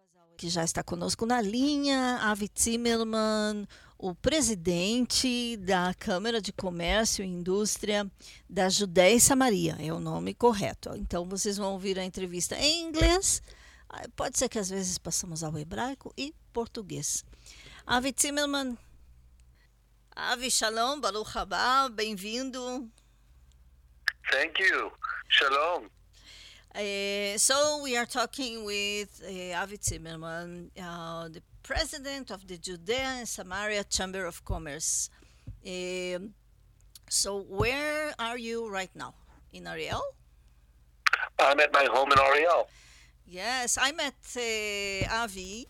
Que já está conosco na linha, Avi Zimmermann, o presidente da Câmara de Comércio e Indústria da Judéia e Samaria, é o nome correto. Então, vocês vão ouvir a entrevista em inglês, pode ser que às vezes passamos ao hebraico e português. Avi Zimmermann, Avi Shalom, Baruch Haba, bem-vindo. Thank you. Shalom. So we are talking with Avi Zimmermann, the president of the Judea and Samaria Chamber of Commerce. So where are you right now? In Ariel? I'm at my home in Ariel. Yes, I met Avi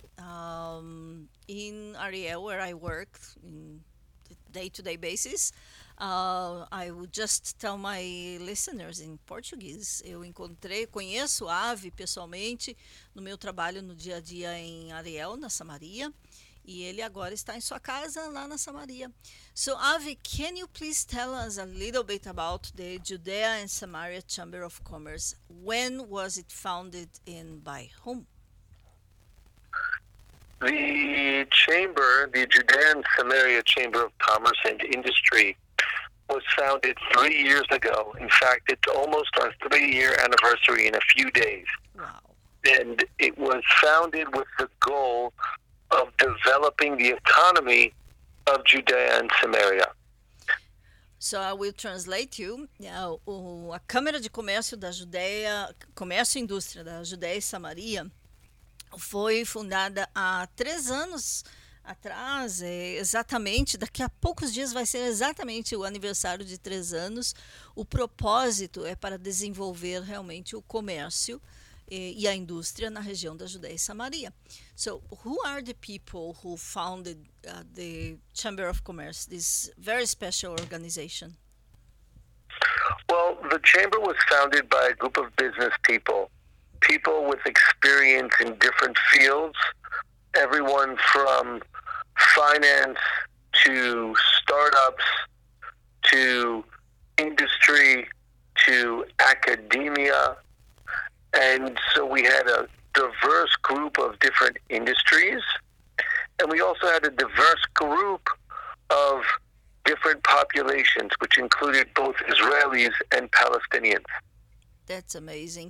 in Ariel, where I work in day-to-day basis. I would just tell my listeners in Portuguese. Conheço a Avi pessoalmente no meu trabalho no dia a dia em Ariel, na Samaria, e ele agora está em sua casa lá na Samaria. So Avi, can you please tell us a little bit about the Judea and Samaria Chamber of Commerce? When was it founded and by whom? The chamber, the Judea and Samaria Chamber of Commerce and Industry, was founded 3 years ago. In fact, it's almost our 3-year anniversary in a few days. Wow. And it was founded with the goal of developing the economy of Judea and Samaria. So I will translate you. A Câmara de Comércio da Judéia, Comércio e Indústria da Judéia e Samaria foi fundada há 3 anos atrás, exatamente, daqui a poucos dias vai ser exatamente o aniversário de 3 anos. O propósito é para desenvolver realmente o comércio e a indústria na região da Judéia e Samaria. So, who are the people who founded the Chamber of Commerce, this very special organization? Well, the chamber was founded by a group of business people with experience in different fields, everyone from finance to startups to industry to academia. And so we had a diverse group of different industries, and we also had a diverse group of different populations, which included both Israelis and Palestinians. That's amazing.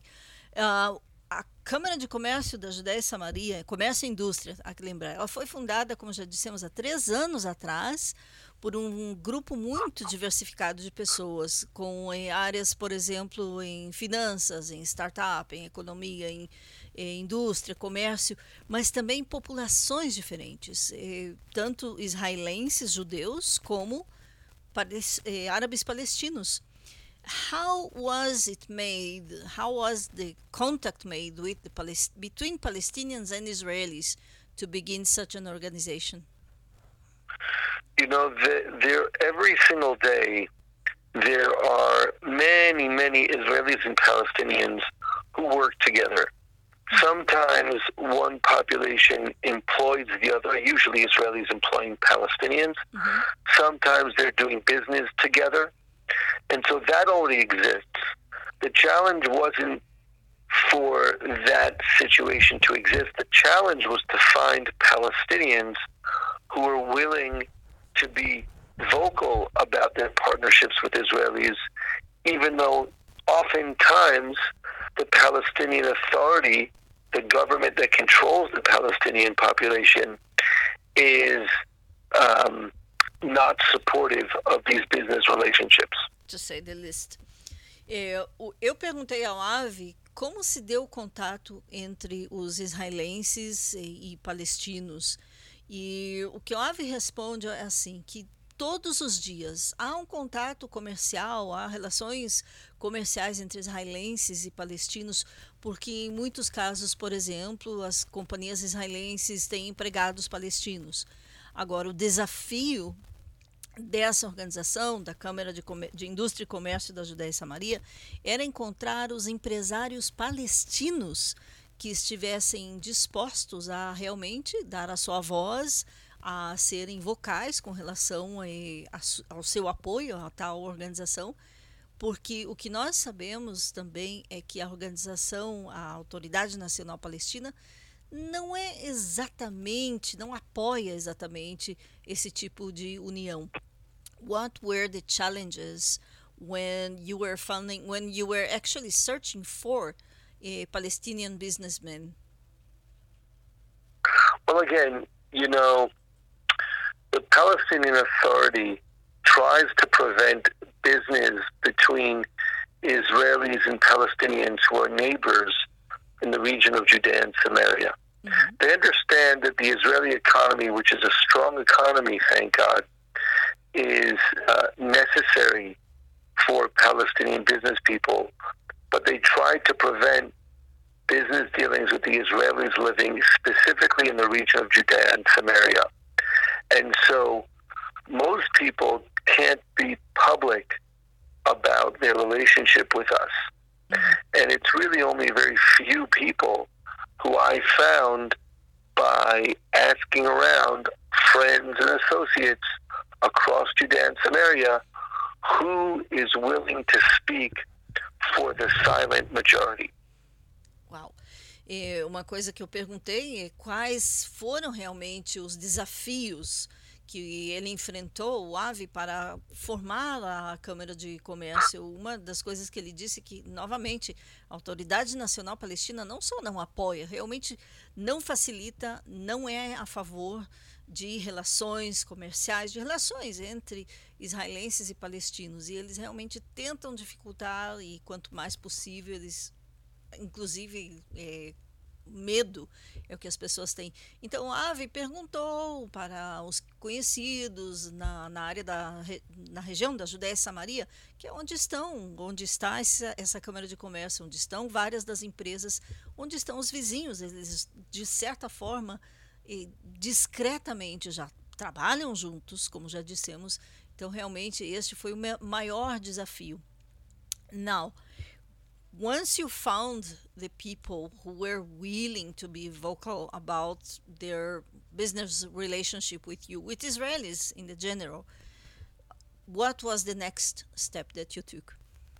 A Câmara de Comércio da Judéia e Samaria, Comércio e Indústria, há que lembrar, ela foi fundada, como já dissemos, há 3 anos atrás, por um grupo muito diversificado de pessoas, com áreas, por exemplo, em finanças, em startup, em economia, em indústria, comércio, mas também populações diferentes, tanto israelenses, judeus, como árabes palestinos. How was it made? How was the contact made with between Palestinians and Israelis to begin such an organization? You know, every single day there are many, many Israelis and Palestinians who work together. Sometimes one population employs the other, usually Israelis employing Palestinians. Mm-hmm. Sometimes they're doing business together. And so that already exists. The challenge wasn't for that situation to exist. The challenge was to find Palestinians who were willing to be vocal about their partnerships with Israelis, even though oftentimes the Palestinian Authority, the government that controls the Palestinian population, is not supportive of these business relationships. To say the least. Eu perguntei ao Avi como se deu o contato entre os israelenses e palestinos. E o que o Avi responde é assim, que todos os dias há um contato comercial, há relações comerciais entre israelenses e palestinos, porque em muitos casos, por exemplo, as companhias israelenses têm empregados palestinos. Agora, o desafio dessa organização, da Câmara de Indústria e Comércio da Judéia e Samaria, era encontrar os empresários palestinos que estivessem dispostos a realmente dar a sua voz, a serem vocais com relação ao seu apoio a tal organização, porque o que nós sabemos também é que a organização, a Autoridade Nacional Palestina, não é exatamente, não apoia exatamente esse tipo de união. What were the challenges when you were founding, when you were actually searching for a Palestinian businessman? Well, again, the Palestinian Authority tries to prevent business between Israelis and Palestinians who are neighbors in the region of Judea and Samaria. Mm-hmm. They understand that the Israeli economy, which is a strong economy, thank God, is necessary for Palestinian business people, but they try to prevent business dealings with the Israelis living specifically in the region of Judea and Samaria. And so most people can't be public about their relationship with us. Mm-hmm. And it's really only very few people who I found by asking around friends and associates across Judea and Samaria who is willing to speak for the silent majority. Uau! Uma coisa que eu perguntei é quais foram realmente os desafios que ele enfrentou, o AVE, para formar a Câmara de Comércio. Uma das coisas que ele disse que, novamente, a Autoridade Nacional Palestina não só não apoia, realmente não facilita, não é a favor de relações comerciais, de relações entre israelenses e palestinos. E eles realmente tentam dificultar, e quanto mais possível, eles, inclusive, medo é o que as pessoas têm. Então, a AVE perguntou para os conhecidos na área na região da Judéia e Samaria, que é onde está essa Câmara de Comércio, onde estão várias das empresas, onde estão os vizinhos. Eles, de certa forma, discretamente já trabalham juntos, como já dissemos. Então, realmente, este foi o maior desafio. Now, once you found the people who were willing to be vocal about their business relationship with you, with Israelis in the general, what was the next step that you took?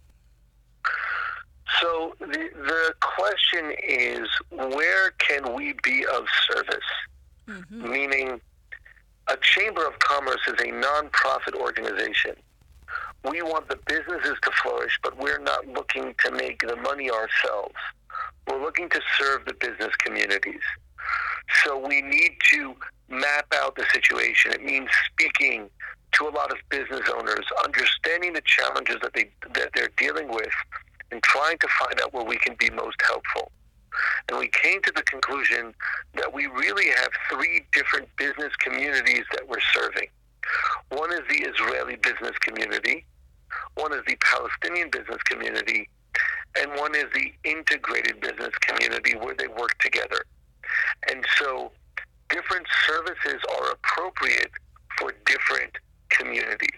So the question is, where can we be of service? Mm-hmm. Meaning, a Chamber of Commerce is a non-profit organization. We want the businesses to flourish, but we're not looking to make the money ourselves. We're looking to serve the business communities. So we need to map out the situation. It means speaking to a lot of business owners, understanding the challenges that they're dealing with, and trying to find out where we can be most helpful. And we came to the conclusion that we really have three different business communities that we're serving. One is the Israeli business community, one is the Palestinian business community, and one is the integrated business community where they work together. And so different services are appropriate for different communities.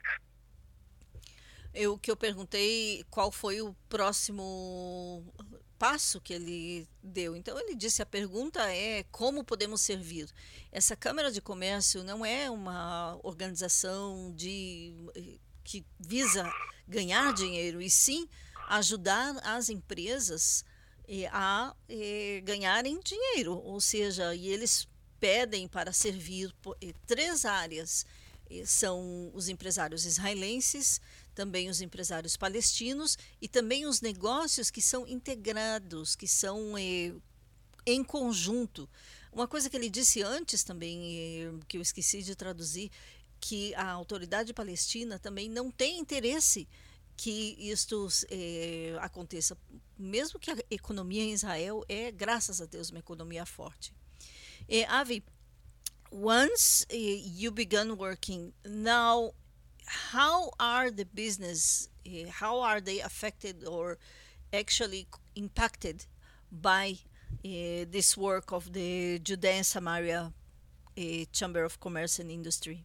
O que eu perguntei, qual foi o próximo passo que ele deu. Então ele disse, a pergunta é como podemos servir. Essa Câmara de Comércio não é uma organização que visa ganhar dinheiro, e sim ajudar as empresas a ganharem dinheiro. Ou seja, e eles pedem para servir três áreas. São os empresários israelenses, também os empresários palestinos e também os negócios que são integrados, que são em conjunto. Uma coisa que ele disse antes também, que eu esqueci de traduzir, que a autoridade palestina também não tem interesse que isto aconteça, mesmo que a economia em Israel graças a Deus, uma economia forte. Avi, once you began working, now how are the business, how are they affected or actually impacted by this work of the Judea and Samaria Chamber of Commerce and Industry?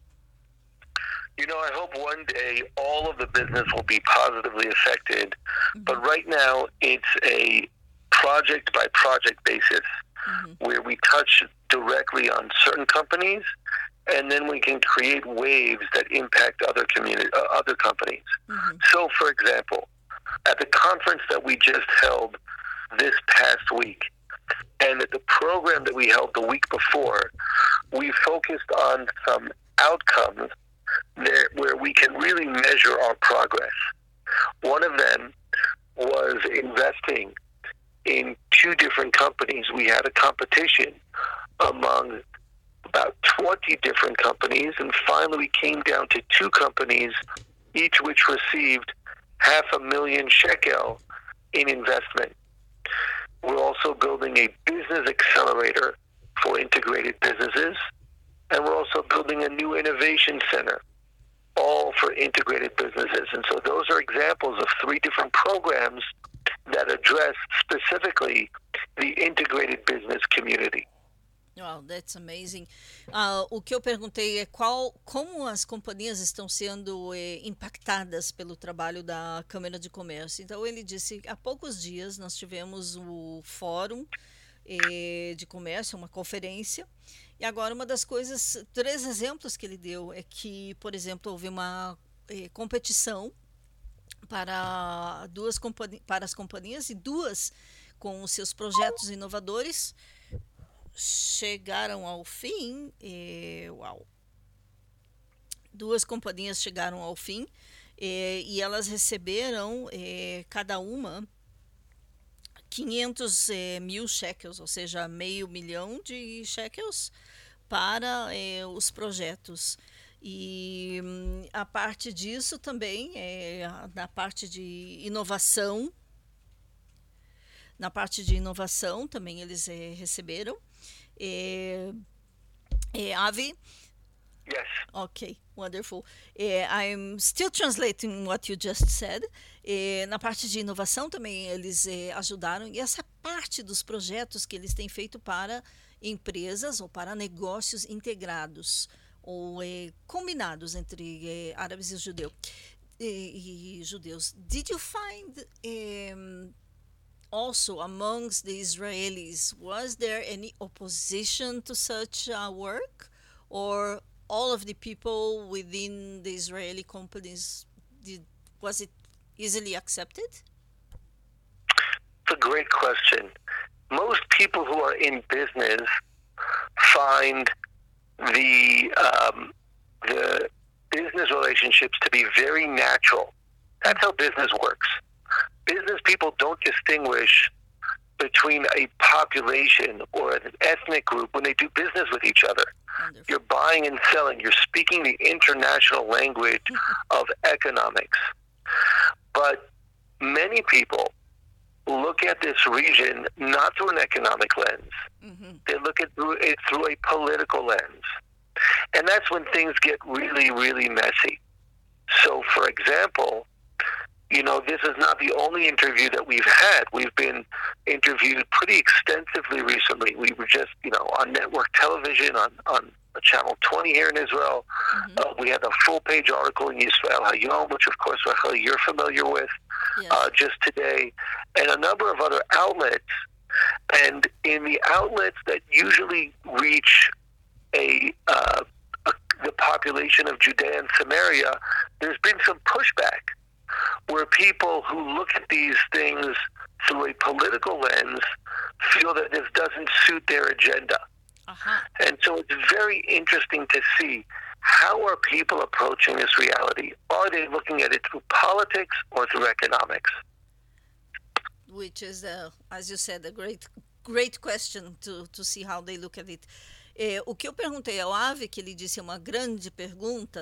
I hope one day all of the business will be positively affected, mm-hmm. but right now it's a project-by-project basis, mm-hmm. where we touch directly on certain companies, and then we can create waves that impact other companies. Mm-hmm. So, for example, at the conference that we just held this past week, And at the program that we held the week before, we focused on some outcomes there where we can really measure our progress. One of them was investing in 2 different companies. We had a competition among about 20 different companies, and finally we came down to 2 companies, each which received 500,000 shekel in investment. We're also building a business accelerator for integrated businesses, and we're also building a new innovation center, all for integrated businesses. And so those are examples of 3 different programs that address specifically the integrated business community. Wow, that's amazing. O que eu perguntei é como as companhias estão sendo impactadas pelo trabalho da Câmara de Comércio. Então, ele disse, há poucos dias nós tivemos o Fórum de Comércio, uma conferência, e agora uma das coisas, 3 exemplos que ele deu é que, por exemplo, houve uma competição para as companhias, e 2 com os seus projetos inovadores chegaram ao fim. Uau! 2 companhias chegaram ao fim e elas receberam cada uma 500 mil shekels, ou seja, $500,000 de shekels para os projetos. E a parte disso também, na parte de inovação, também eles receberam. Avi? Yes. Okay, wonderful. I'm still translating what you just said. Na parte de inovação também eles ajudaram, e essa parte dos projetos que eles têm feito para empresas ou para negócios integrados ou combinados entre árabes e judeus. Did you find also amongst the Israelis, was there any opposition to such work, or all of the people within the Israeli companies, was it easily accepted? It's a great question. Most people who are in business find the business relationships to be very natural. That's how business works. Business people don't distinguish between a population or an ethnic group when they do business with each other. Wonderful. You're buying and selling. You're speaking the international language of economics. But many people look at this region not through an economic lens. Mm-hmm. They look at it through a political lens. And that's when things get really, really messy. So, for example, this is not the only interview that we've had. We've been interviewed pretty extensively recently. We were just, on network television, on Channel 20 here in Israel. Mm-hmm. We had a full-page article in Yisrael Hayom, which, of course, Rachel, you're familiar with, yes. Just today, and a number of other outlets. And in the outlets that usually reach the population of Judea and Samaria, there's been some pushback, where people who look at these things through a political lens feel that this doesn't suit their agenda. Uh-huh. And so it's very interesting to see, how are people approaching this reality? Are they looking at it through politics or through economics? Which is, as you said, a great question to see how they look at it. O que eu perguntei ao Avi, que ele disse uma grande pergunta,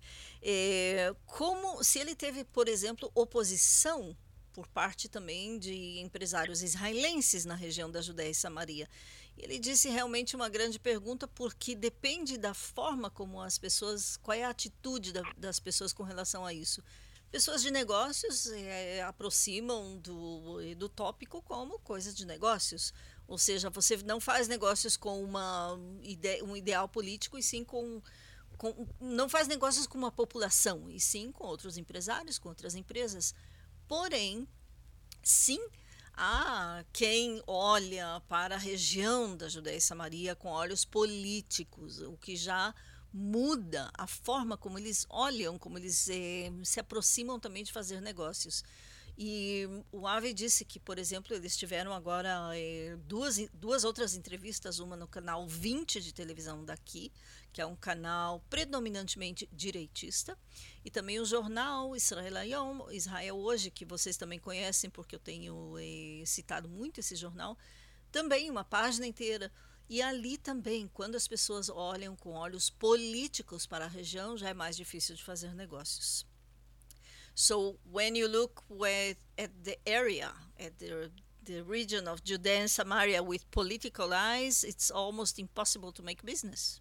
como se ele teve, por exemplo, oposição por parte também de empresários israelenses na região da Judéia e Samaria. Ele disse realmente uma grande pergunta, porque depende da forma como as pessoas, qual é a atitude das pessoas com relação a isso. Pessoas de negócios aproximam do tópico como coisas de negócios. Ou seja, você não faz negócios com um ideal político, e sim não faz negócios com uma população, e sim com outros empresários, com outras empresas. Porém, sim, há quem olha para a região da Judéia e Samaria com olhos políticos, o que já muda a forma como eles olham, como eles se aproximam também de fazer negócios. E o Avi disse que, por exemplo, eles tiveram agora duas outras entrevistas, uma no canal 20 de televisão daqui, que é um canal predominantemente direitista, e também o jornal Israel Hayom, Israel Hoje, que vocês também conhecem, porque eu tenho citado muito esse jornal, também uma página inteira. E ali também, quando as pessoas olham com olhos políticos para a região, já é mais difícil de fazer negócios. So when you look at the area, at the region of Judea and Samaria with political eyes, it's almost impossible to make business.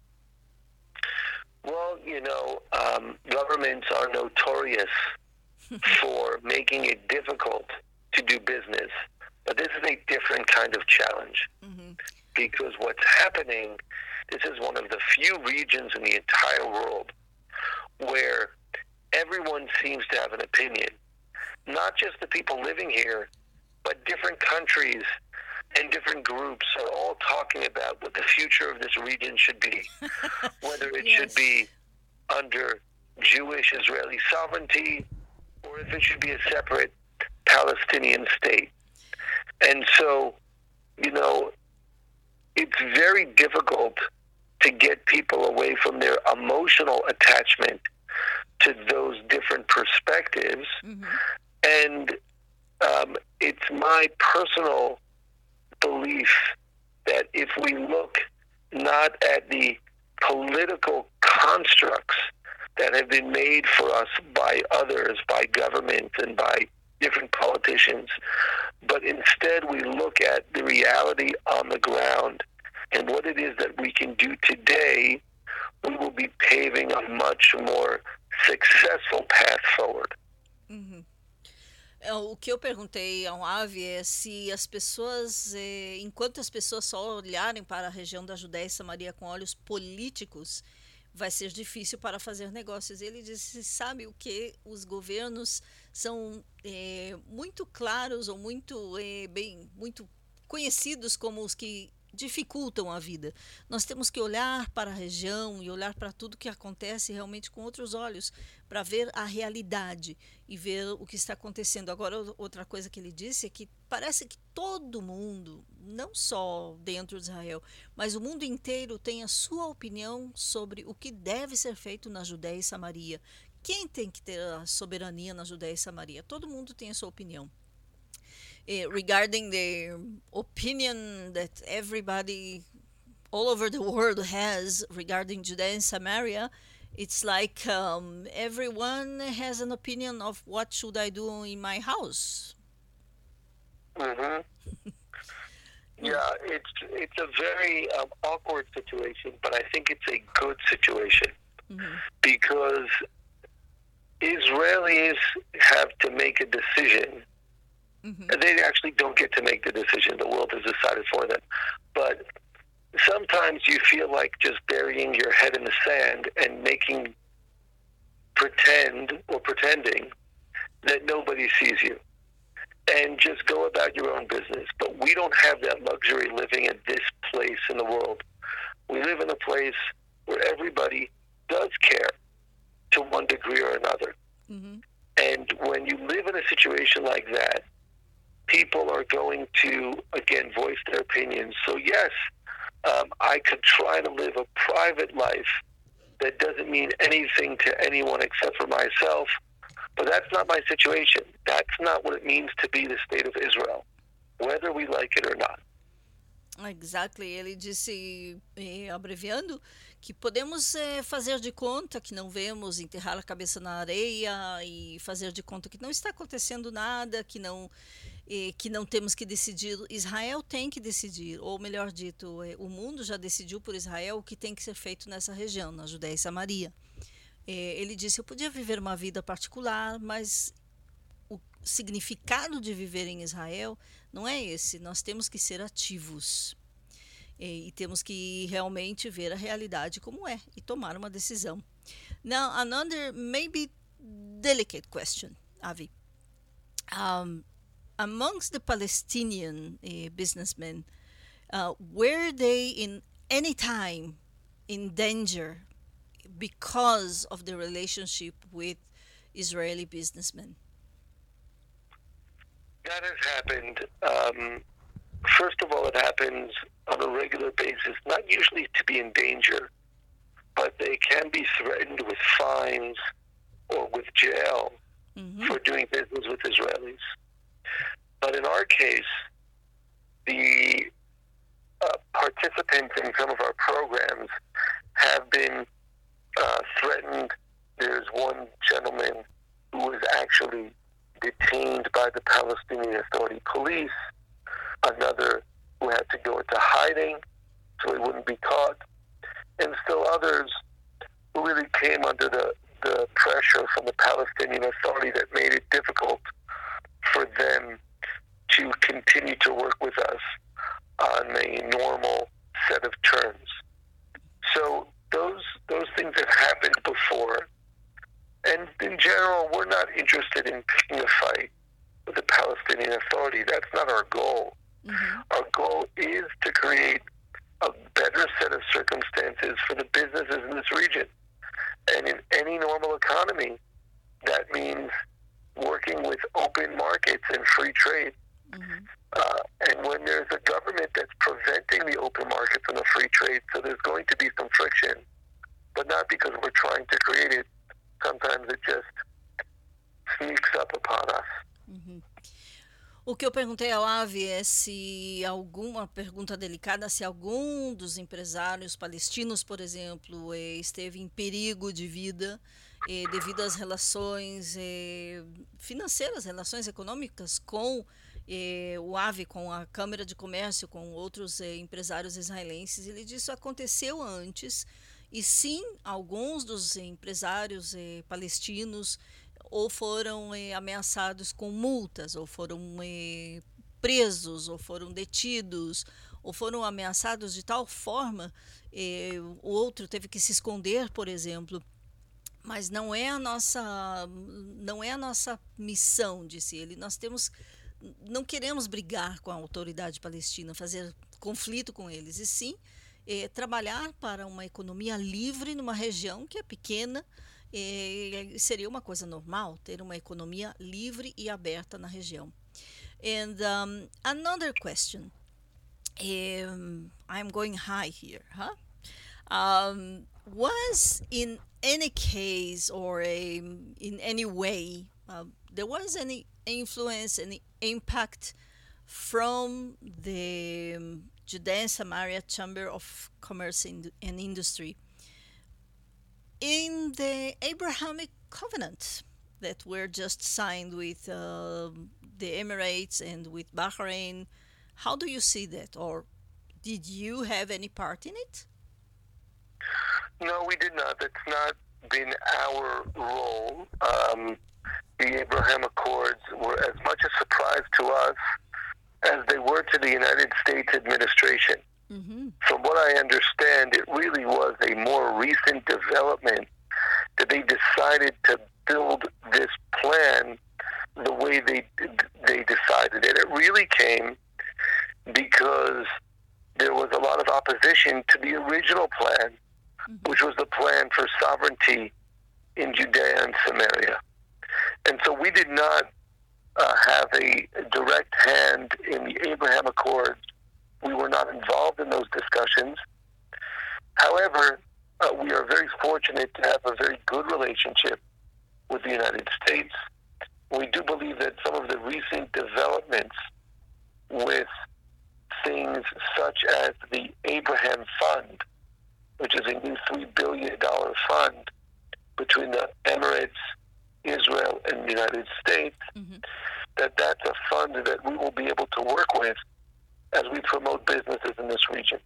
Well, governments are notorious for making it difficult to do business. But this is a different kind of challenge. Mm-hmm. Because what's happening, this is one of the few regions in the entire world where everyone seems to have an opinion. Not just the people living here, but different countries and different groups are all talking about what the future of this region should be. Whether it should be under Jewish Israeli sovereignty or if it should be a separate Palestinian state. And so, it's very difficult to get people away from their emotional attachment to those different perspectives. Mm-hmm. And it's my personal belief that if we look not at the political constructs that have been made for us by others, by government and by different politicians, but instead we look at the reality on the ground and what it is that we can do today, we will be paving a much more successful path forward. Uhum. O que eu perguntei ao Avi é se as pessoas, enquanto as pessoas só olharem para a região da Judéia e Samaria com olhos políticos, vai ser difícil para fazer negócios. Ele disse, sabe o que? Os governos são muito claros ou muito conhecidos como os que dificultam a vida. Nós temos que olhar para a região e olhar para tudo que acontece realmente com outros olhos, para ver a realidade e ver o que está acontecendo. Agora, outra coisa que ele disse é que parece que todo mundo, não só dentro de Israel, mas o mundo inteiro tem a sua opinião sobre o que deve ser feito na Judéia e Samaria. Quem tem que ter a soberania na Judéia e Samaria? Todo mundo tem a sua opinião. Regarding the opinion that everybody all over the world has regarding Judea and Samaria, it's like everyone has an opinion of what should I do in my house. Mm-hmm. Yeah, it's a very awkward situation, but I think it's a good situation because Israelis have to make a decision. Mm-hmm. They actually don't get to make the decision. The world has decided for them. But sometimes you feel like just burying your head in the sand and pretending that nobody sees you. And just go about your own business. But we don't have that luxury living in this place in the world. We live in a place where everybody does care to one degree or another. Mm-hmm. And when you live in a situation like that, people are going to, again, voice their opinions. So yes, I could try to live a private life that doesn't mean anything to anyone except for myself, but that's not my situation. That's not what it means to be the state of Israel, whether we like it or not. Exactly. Ele disse, abreviando, que podemos fazer de conta que não vemos, enterrar a cabeça na areia e fazer de conta que não está acontecendo nada, que não temos que decidir. Israel tem que decidir, ou melhor dito, o mundo já decidiu por Israel o que tem que ser feito nessa região, na Judéia e Samaria. Ele disse, eu podia viver uma vida particular, mas o significado de viver em Israel não é esse. Nós temos que ser ativos e temos que realmente ver a realidade como é e tomar uma decisão. Now, another maybe delicate question, Avi. Amongst the Palestinian businessmen, were they in any time in danger because of the relationship with Israeli businessmen? That has happened. First of all, it happens on a regular basis, not usually to be in danger, but they can be threatened with fines or with jail for doing business with Israelis. But in our case, the participants in some of our programs have been threatened. There's one gentleman who was actually detained by the Palestinian Authority police, another who had to go into hiding so he wouldn't be caught, and still others who really came under the pressure from the Palestinian Authority that made it difficult for them to continue to work with us on a normal set of terms. So those things have happened before. And in general, we're not interested in picking a fight with the Palestinian Authority. That's not our goal. Our goal is to create a better set of circumstances for the businesses in this region. And in any normal economy, that means working with open markets and free trade. And when there's a government that's preventing the open markets and the free trade, so there's going to be some friction, but not because we're trying to create it. Sometimes it just sneaks up upon us. O que eu perguntei ao Avi é se alguma pergunta delicada, se algum dos empresários palestinos, por exemplo, esteve em perigo de vida devido às relações financeiras, relações econômicas com o Avi, com a Câmara de Comércio, com outros empresários israelenses. Ele disse que isso aconteceu antes e sim, alguns dos empresários palestinos ou foram ameaçados com multas, ou foram presos, ou foram detidos, ou foram ameaçados de tal forma, o outro teve que se esconder, por exemplo. Mas não é a nossa missão, disse ele. Não queremos brigar com a autoridade palestina, fazer conflito com eles, e sim trabalhar para uma economia livre numa região que é pequena. Seria uma coisa normal ter uma economia livre e aberta na região. And another question, I'm going high here, was in any case or in any way there was any influence, any impact from the Judea and Samaria Chamber of Commerce and Industry in the Abrahamic covenant that were just signed with the Emirates and with Bahrain? How do you see that, or did you have any part in it? No, we did not. That's not been our role. The Abraham Accords were as much a surprise to us as they were to the United States administration. From what I understand, it really was a more recent development that they decided to build this plan the way they decided it. It really came because there was a lot of opposition to the original plan, which was the plan for sovereignty in Judea and Samaria. And so we did not have a direct hand in the Abraham Accords. We were not involved in those discussions. However, we are very fortunate to have a very good relationship with the United States. We do believe that some of the recent developments with things such as the Abraham Fund, which is a new $3 billion fund between the Emirates, Israel, and the United States, that's a fund that we will be able to work with as we promote businesses in this region.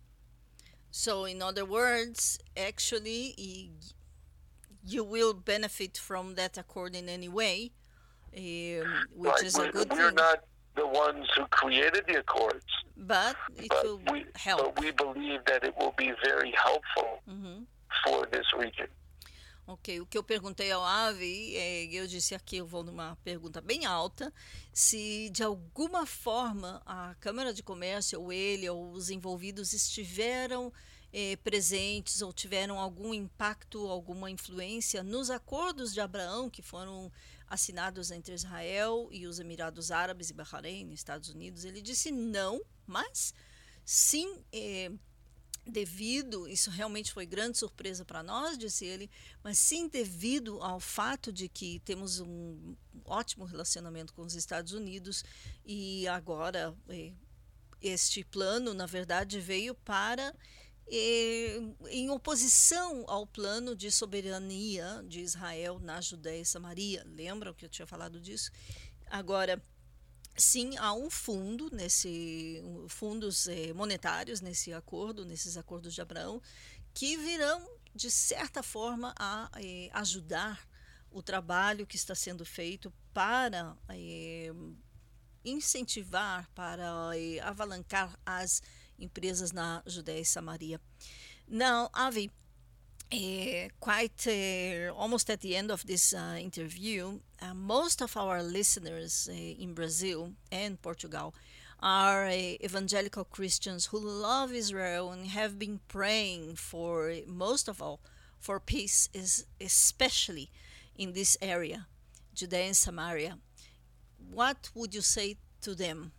So, in other words, actually, you will benefit from that accord in any way, which is a good thing. We're not the ones who created the accords, but it will help. But we believe that it will be very helpful for this region. Ok, o que eu perguntei ao Avi, eu disse aqui, eu vou numa pergunta bem alta, se de alguma forma a Câmara de Comércio, ou ele, ou os envolvidos estiveram presentes ou tiveram algum impacto, alguma influência nos acordos de Abraão que foram assinados entre Israel e os Emirados Árabes e Bahrein, Estados Unidos. Ele disse não, mas sim, devido, isso realmente foi grande surpresa para nós, disse ele, mas sim devido ao fato de que temos um ótimo relacionamento com os Estados Unidos e agora este plano, na verdade, veio para em oposição ao plano de soberania de Israel na Judéia e Samaria. Lembram que eu tinha falado disso? Agora, sim, há um fundo, fundos monetários nesse acordo, nesses acordos de Abraão, que virão, de certa forma, a ajudar o trabalho que está sendo feito para incentivar, para avalancar as empresas na Judéia e Samaria. Now, Avi, almost at the end of this interview, most of our listeners in Brazil and Portugal are evangelical Christians who love Israel and have been praying for, most of all, for peace, especially in this area, Judea and Samaria. What would you say to them?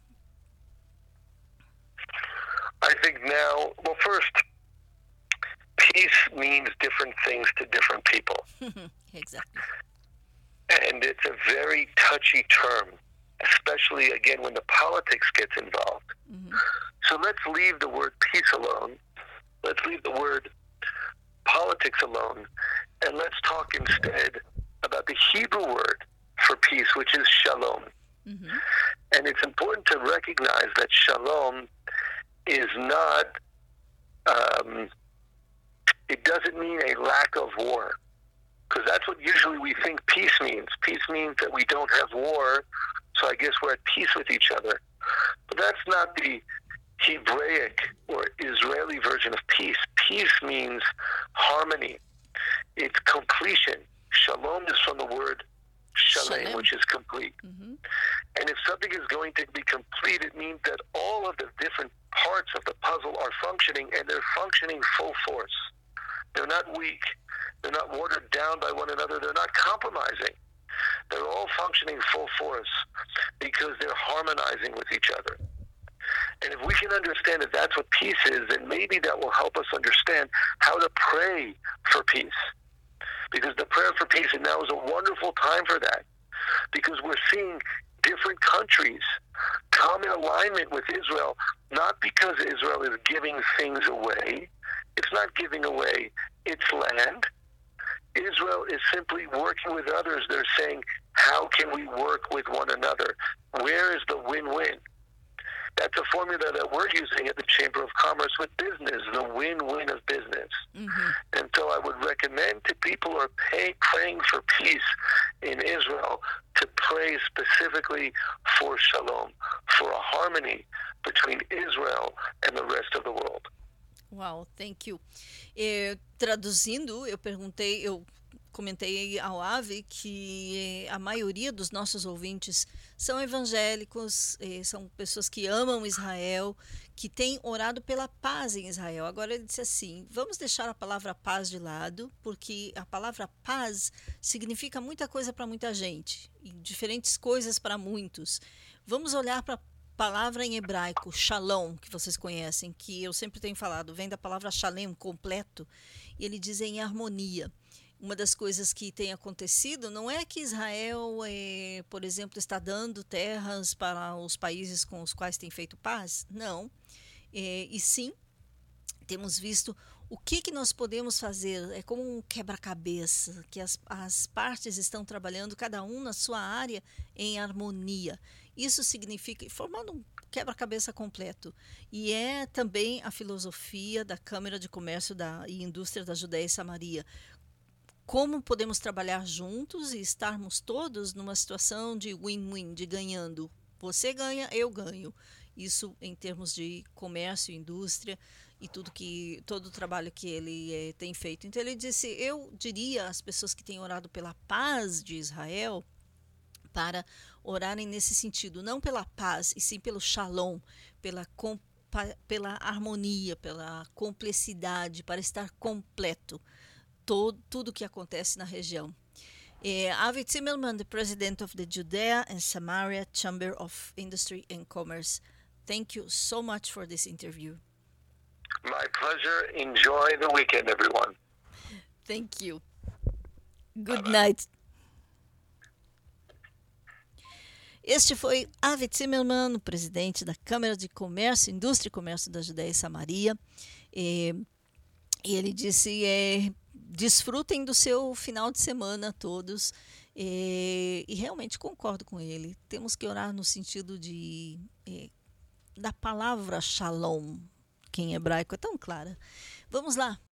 I think now, well, first, peace means different things to different people. Exactly. And it's a very touchy term, especially, again, when the politics gets involved. Mm-hmm. So let's leave the word peace alone. Let's leave the word politics alone. And let's talk instead about the Hebrew word for peace, which is shalom. Mm-hmm. And it's important to recognize that shalom is not, it doesn't mean a lack of war, because that's what usually we think peace means. Peace means that we don't have war, so I guess we're at peace with each other. But that's not the Hebraic or Israeli version of peace. Peace means harmony. It's completion. Shalom is from the word shalem, which is complete. Mm-hmm. And if something is going to be complete, it means that all of the different parts of the puzzle are functioning, and they're functioning full force. They're not weak. They're not watered down by one another. They're not compromising. They're all functioning full force because they're harmonizing with each other. And if we can understand that that's what peace is, then maybe that will help us understand how to pray for peace. Because the prayer for peace, and now is a wonderful time for that, because we're seeing different countries come in alignment with Israel, not because Israel is giving things away. It's not giving away its land. Israel is simply working with others. They're saying, how can we work with one another? Where is the win-win? That's a formula that we're using at the Chamber of Commerce with business, the win-win of business. Mm-hmm. And so I would recommend to people who are praying for peace in Israel to pray specifically for shalom, for a harmony between Israel and the rest of the world. Wow, thank you. Traduzindo, eu comentei ao Avi que a maioria dos nossos ouvintes são evangélicos, são pessoas que amam Israel, que têm orado pela paz em Israel. Agora ele disse assim, vamos deixar a palavra paz de lado, porque a palavra paz significa muita coisa para muita gente, e diferentes coisas para muitos. Vamos olhar para a palavra em hebraico, shalom, que vocês conhecem, que eu sempre tenho falado, vem da palavra shalem, completo, e ele diz em harmonia. Uma das coisas que tem acontecido não é que Israel, por exemplo, está dando terras para os países com os quais tem feito paz, não. E sim, temos visto o que nós podemos fazer, é como um quebra-cabeça, que as partes estão trabalhando, cada um na sua área, em harmonia. Isso significa, formando um quebra-cabeça completo. E é também a filosofia da Câmara de Comércio e Indústria da Judéia e Samaria. Como podemos trabalhar juntos e estarmos todos numa situação de win-win, de ganhando. Você ganha, eu ganho. Isso em termos de comércio, indústria e todo o trabalho que ele tem feito. Então ele disse, eu diria às pessoas que têm orado pela paz de Israel, para orarem nesse sentido, não pela paz, e sim pelo shalom, pela harmonia, pela complexidade, para estar completo. Tudo que acontece na região. Avi Zimmerman, the president of the Judea and Samaria Chamber of Industry and Commerce, thank you so much for this interview. My pleasure. Enjoy the weekend, everyone. Thank you. Good night. Este foi Avi Zimmerman, o presidente da Câmara de Comércio, Indústria e Comércio da Judéia e Samaria. E ele disse, desfrutem do seu final de semana todos. E realmente concordo com ele. Temos que orar no sentido da palavra shalom, que em hebraico é tão clara. Vamos lá,